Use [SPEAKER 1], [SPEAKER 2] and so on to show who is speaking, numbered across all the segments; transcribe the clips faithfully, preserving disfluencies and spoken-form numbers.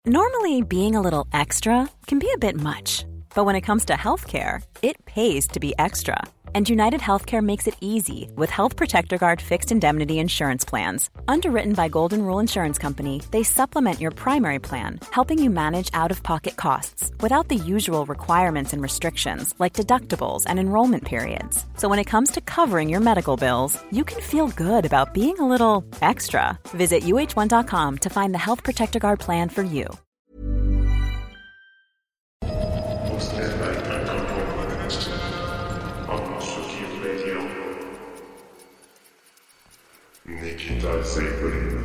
[SPEAKER 1] Normally, being a little extra can be a bit much, but when it comes to healthcare, it pays to be extra. And United Healthcare makes it easy with Health Protector Guard fixed indemnity insurance plans. Underwritten by Golden Rule Insurance Company, they supplement your primary plan, helping you manage out-of-pocket costs without the usual requirements and restrictions like deductibles and enrollment periods. So when it comes to covering your medical bills, you can feel good about being a little extra. Visit U H one dot com to find the Health Protector Guard plan for you.
[SPEAKER 2] Nikita Seyfried.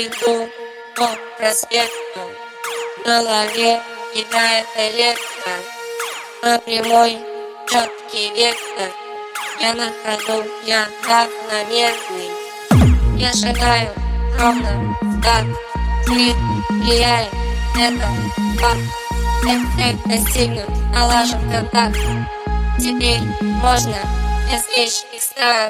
[SPEAKER 3] иду по проспекту, в голове какая-то ветка, по прямой четкий вектор. Я на ходу, я равномерный. Я шагаю ровно так. Свет влияет, это факт. Эффект достигнут, налажен контакт. Теперь можно извлечь из стран.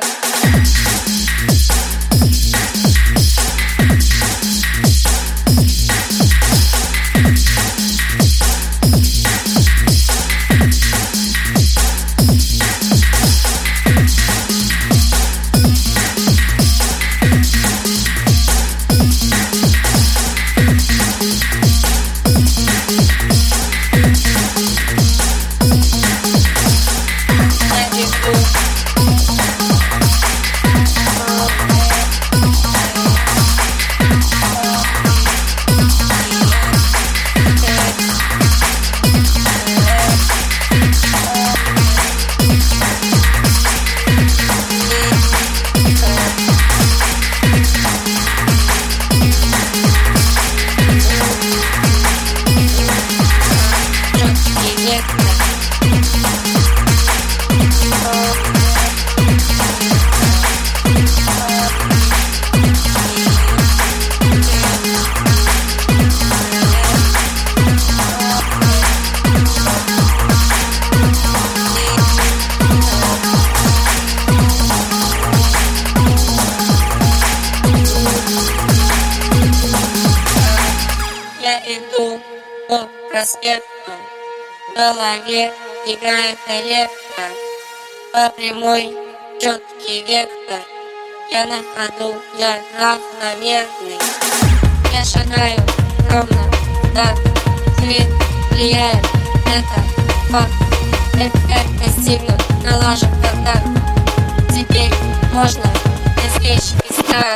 [SPEAKER 3] Я иду по проспекту, в голове какая-то ветка, по прямой четкий вектор. Я на ходу, я равномерный. Я шагаю ровно так. Свет влияет, это факт. Эффект достигнут, налажен контакт. Теперь можно извлечь из стран.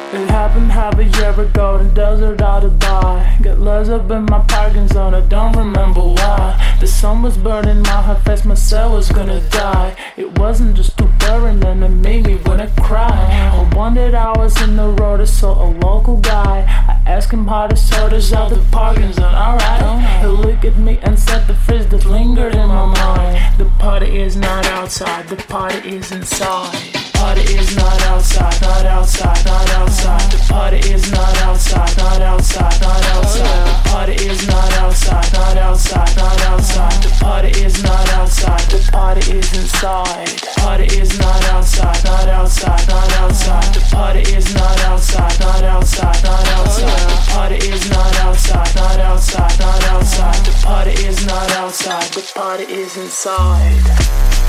[SPEAKER 4] It happened half a year ago in desert out of Dubai. Got lost up in my parking zone, I don't remember why. The sun was burning my heart fast, my cell was gonna die. It wasn't just too boring and it made me wanna cry. I wondered I was in the road, I saw a local guy. I asked him how to sort us out the parking zone, alright. He looked at me and said the phrase that lingered in my mind. The party is not outside, the party is inside. Party is not outside, not outside, not outside. The party is not outside, not outside, not outside. The party is not outside, not outside, not outside. The party is not outside, the party is inside. Party is not outside, not outside, not outside. The party is not outside, not outside, not outside. The party is not outside, not outside, not outside. The party is not outside, the party is inside.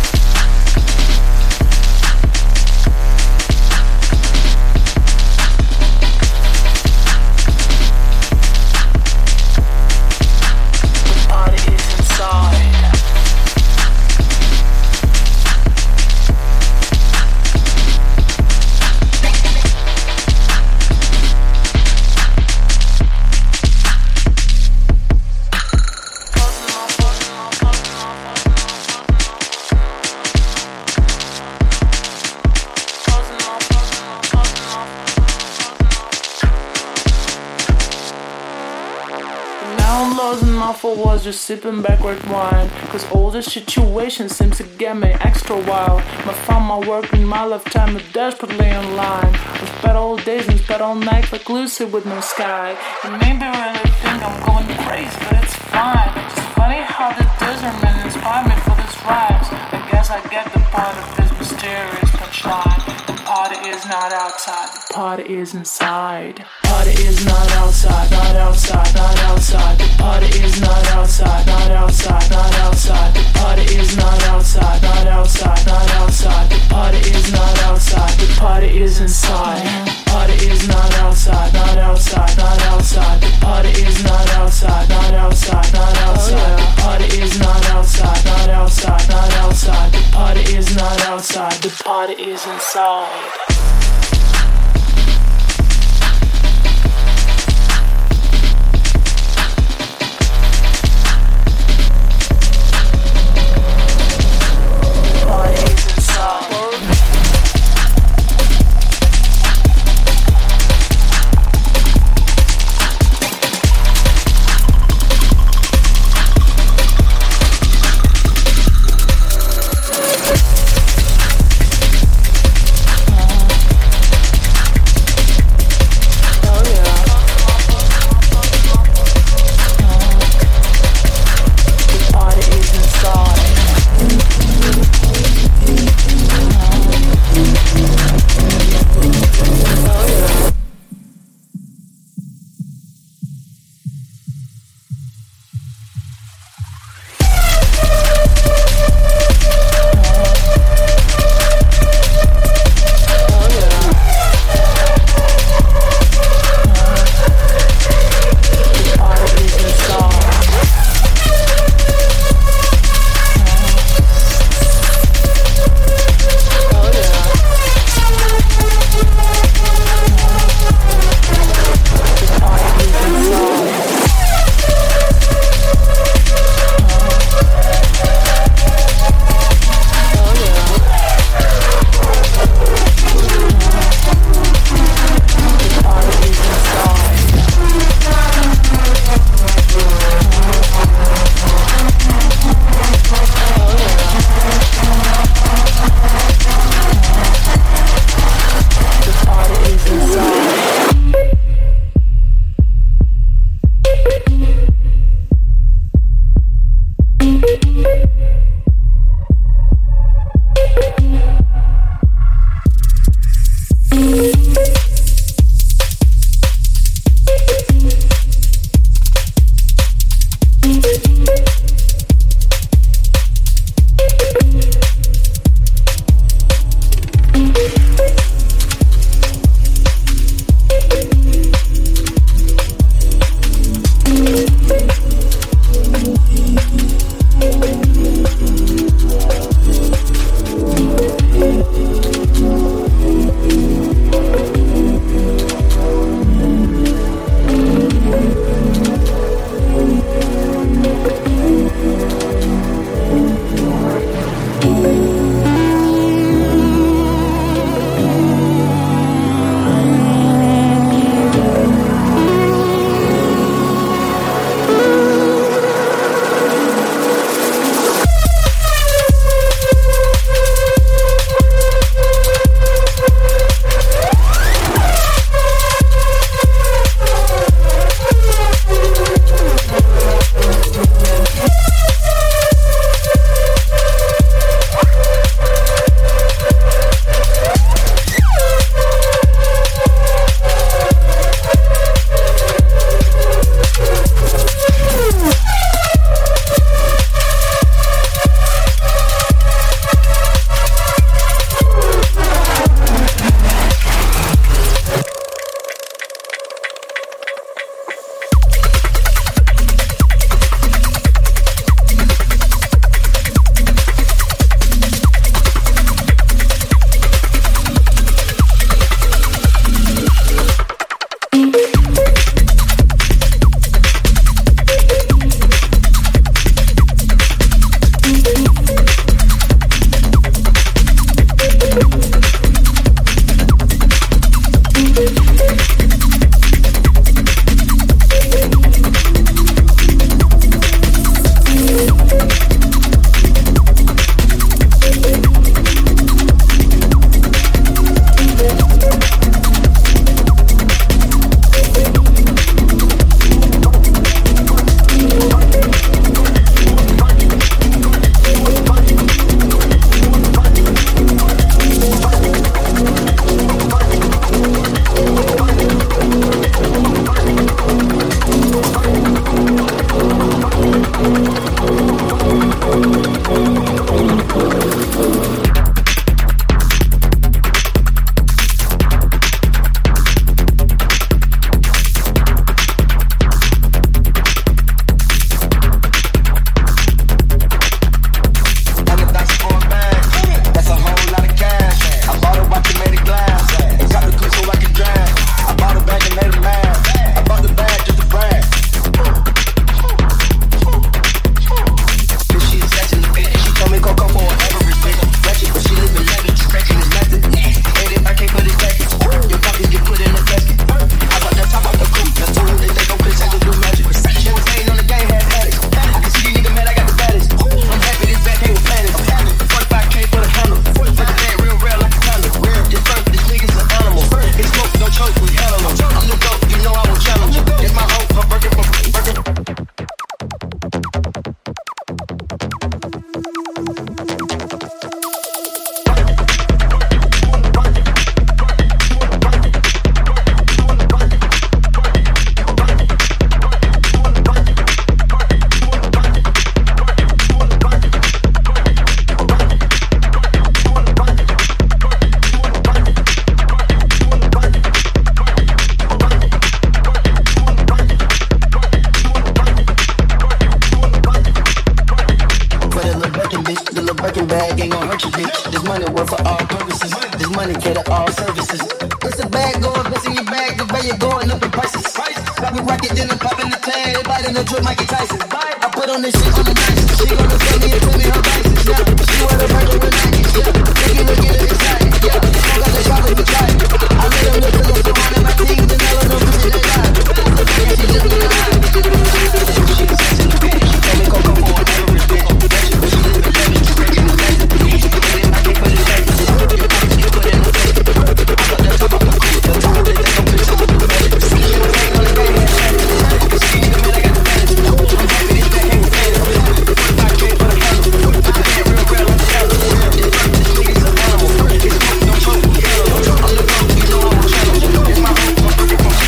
[SPEAKER 4] For was just sipping back red wine. Cause all this situation seems to get me extra wild. I found my work in my lifetime is desperately in line. I spent all days and spent all night like Lucy with no sky. You maybe really think I'm going crazy, but it's fine. It's funny how the desert man inspired me for this rhymes. I guess I get the point of this mysterious punchline. The party is not outside, the party is inside. Party is not outside, not outside, not outside. The party is not outside, not outside, not outside. The party is not outside, not outside, not outside. The party is not outside, the party is inside. Party is not outside, not outside, not outside. The party is not outside, not outside, not outside. The party is not outside, not outside, not outside. The party is not outside, the party is inside.
[SPEAKER 5] more bets in your bag, the way you're going up the prices. Got me rocket, then I'm popping the tag, biting the drip, Mikey Tyson. I put on this shit on the nicest. She gonna tell me and tell me her vices, yeah. She wear the burger with Nikes, yeah. Thinking we get it excited, yeah. Smoke out the chocolate for try. I let them look to the phone on my team, then I let them push it, they lie. Yeah, she just wanna hide. She was sex in the pants, she told me Coco for a average bitch. She live in legend, she breaking the legend. She put it in my cake for the legend. You put it in the face. I got the top of the cool, the top of the deck, I'm the top of the legend. See you in the on the radio. See you in the I got the legend. I'm happy this back ain't the I came for the hell. I can't real real on the hell. This nigga's an animal. It's smoke, don't choke, kill. I'm the bro, you know I'm a channel. It's my home, I'm working from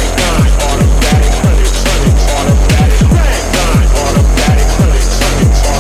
[SPEAKER 6] Automatic,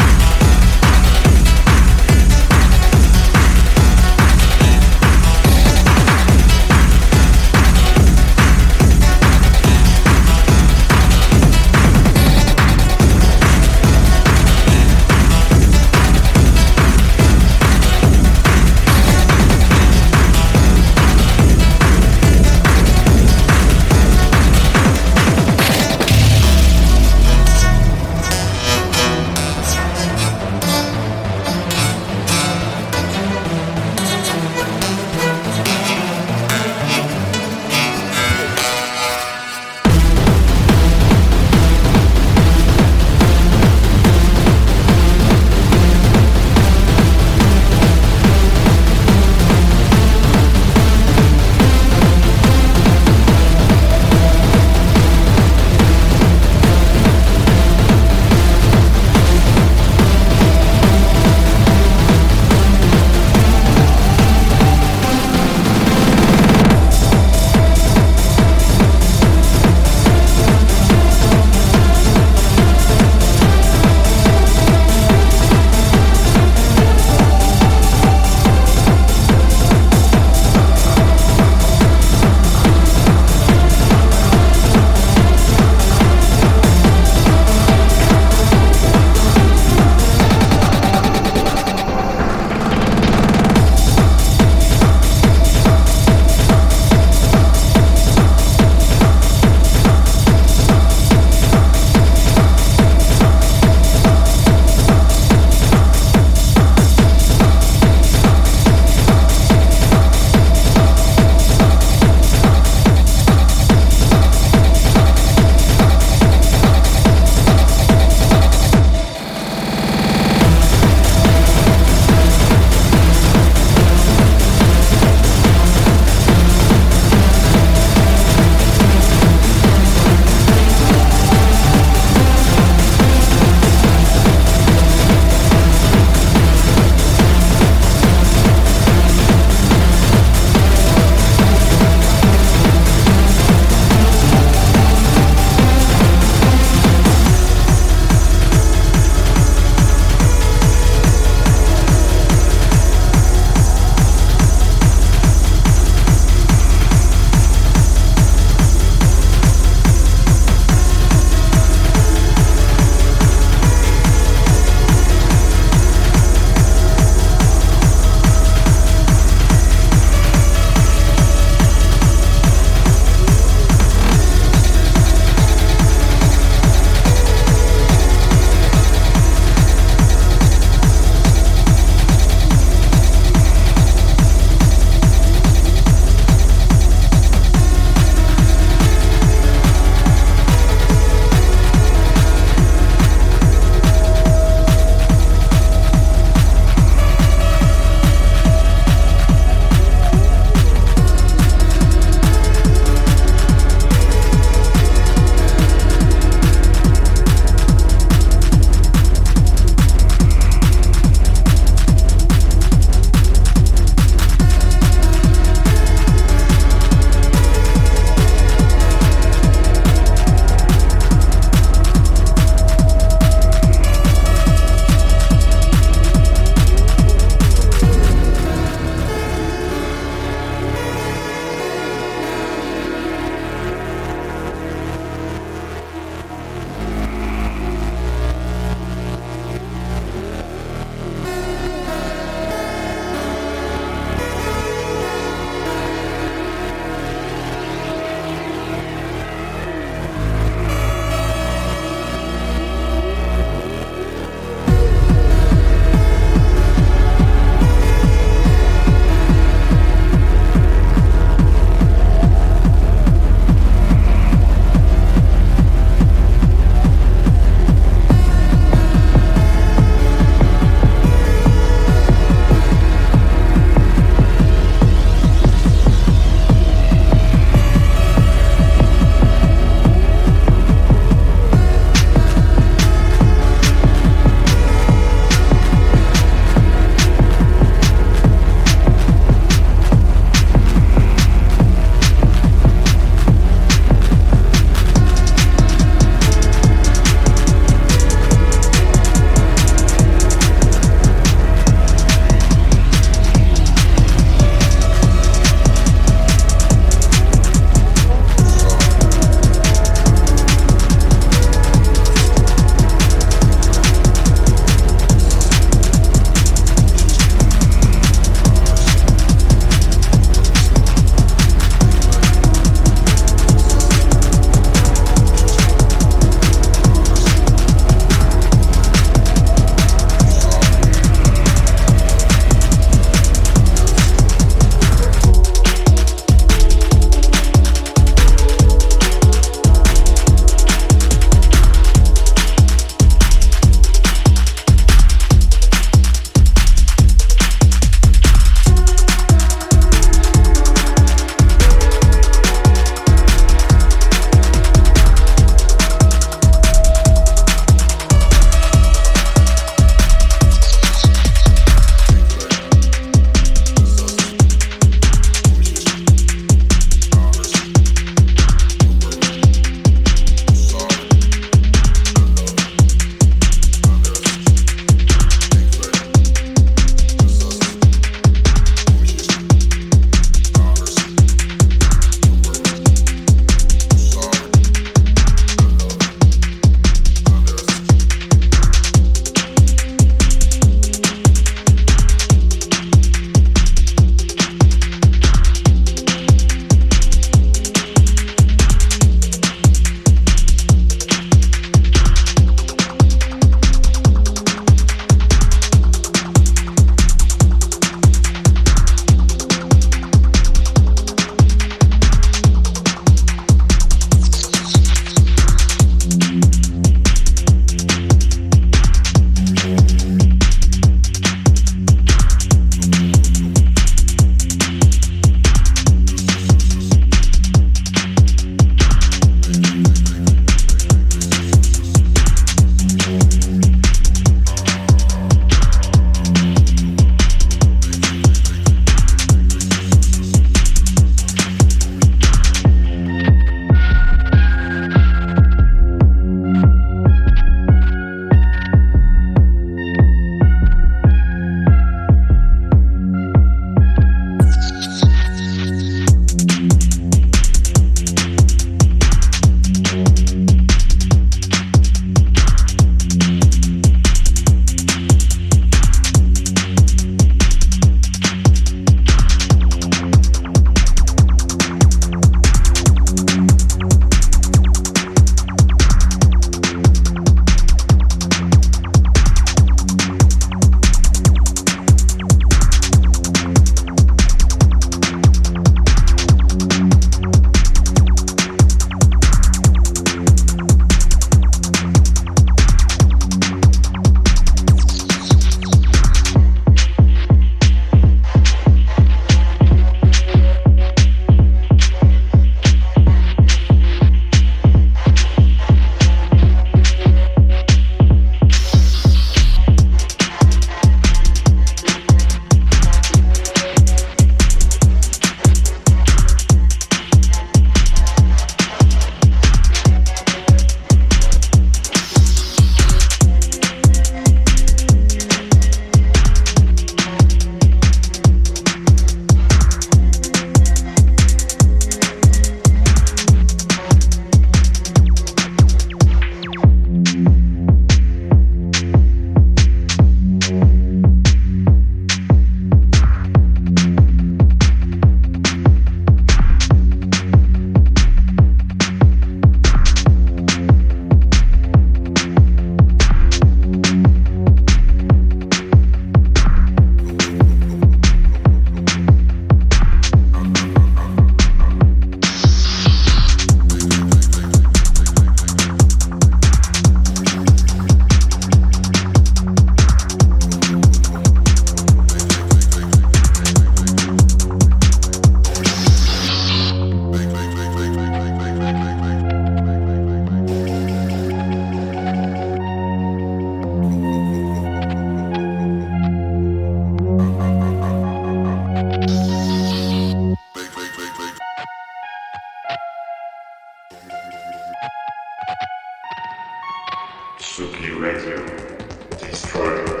[SPEAKER 2] Radio. Destroy.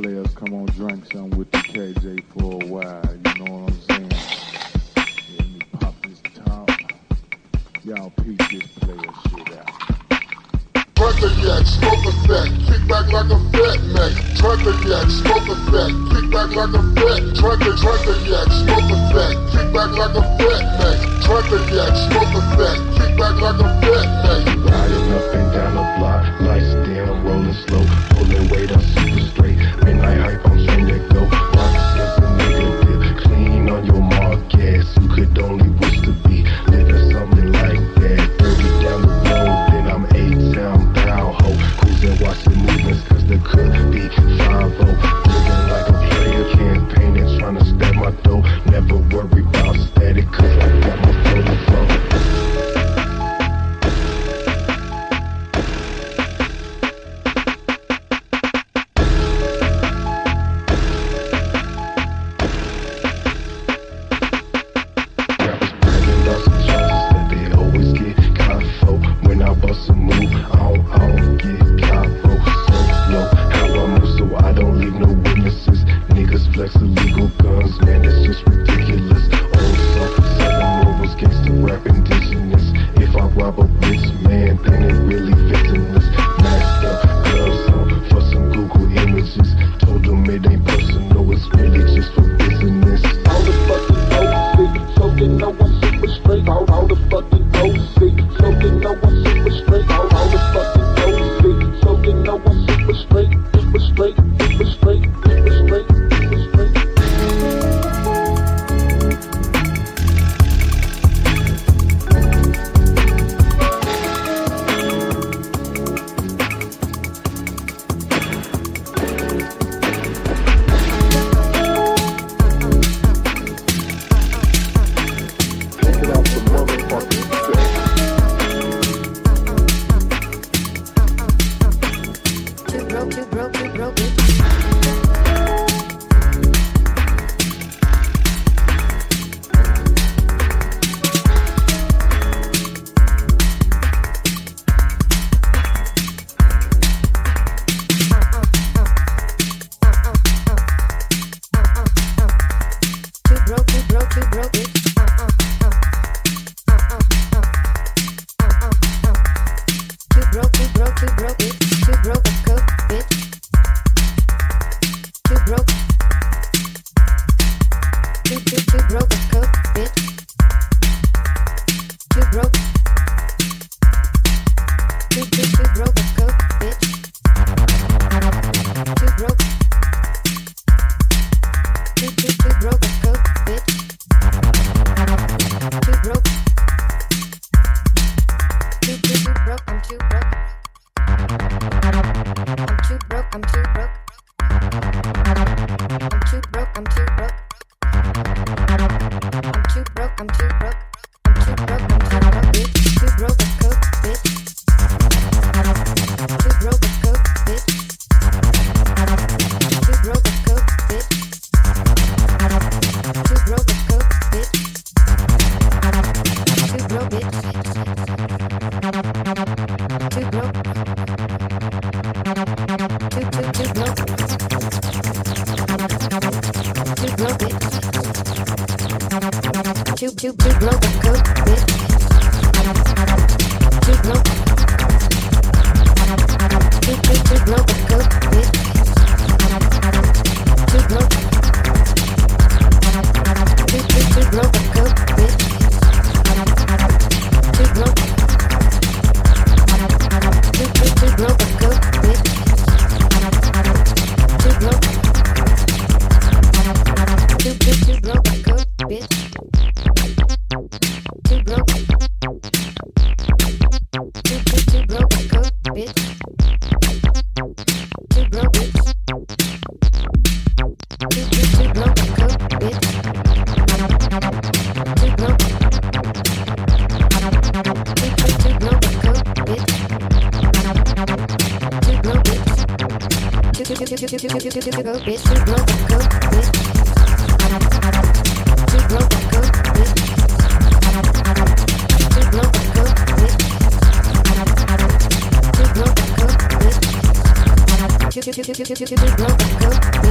[SPEAKER 6] players come on drink some with the K J for a while, you know what I'm saying? Let me pop this top. Y'all peep this player shit out.
[SPEAKER 2] Trucker yak, smoke effect, kick back like a fat Mac. Trucker yak, smoke effect, kick back like a fat. Trucker, trucker yak, smoke effect, kick back like a fat Mac. Trucker yak, smoke effect, kick back like a fat Mac.
[SPEAKER 7] Riding up and down the block, lights dim, rolling slow, pulling weight up super straight. Midnight hype, I'm trying to go. Rock says a nigga dip, clean on your mark, gas. You could only wish to be living something like that. thirty down the road, then I'm eight down. Cruising, watching movements, cause there could be five oh. Living like a player, campaigning, trying to stab my dough. Never worry about static, cause I got my flow flow. Flex illegal guns, man, it's just ridiculous. Old self, seven rovers, gangsta rap indigenous. If I rob a rich man, then it really victimless. Masked up, gloves on, for some Google images. Told them it ain't personal, it's really just for business.
[SPEAKER 8] All the fucking no so you know I'm super straight. All, all the fucking no so you know I'm super straight. All, all the fucking no so you know I'm super straight, super straight, super straight, super straight.
[SPEAKER 9] Bitch.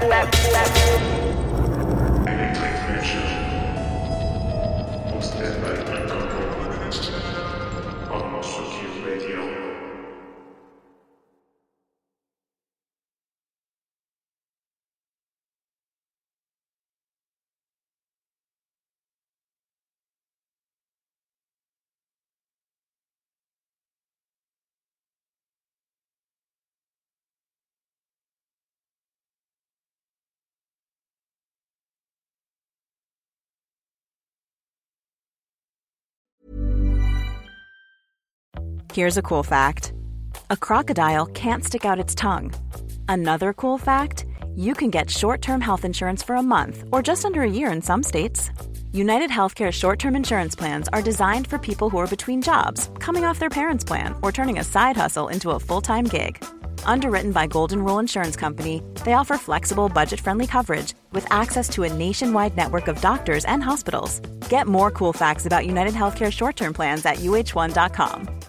[SPEAKER 1] Here's a cool fact. A crocodile can't stick out its tongue. Another cool fact, you can get short-term health insurance for a month or just under a year in some states. United Healthcare short-term insurance plans are designed for people who are between jobs, coming off their parents' plan, or turning a side hustle into a full-time gig. Underwritten by Golden Rule Insurance Company, they offer flexible, budget-friendly coverage with access to a nationwide network of doctors and hospitals. Get more cool facts about United Healthcare short-term plans at U H one dot com.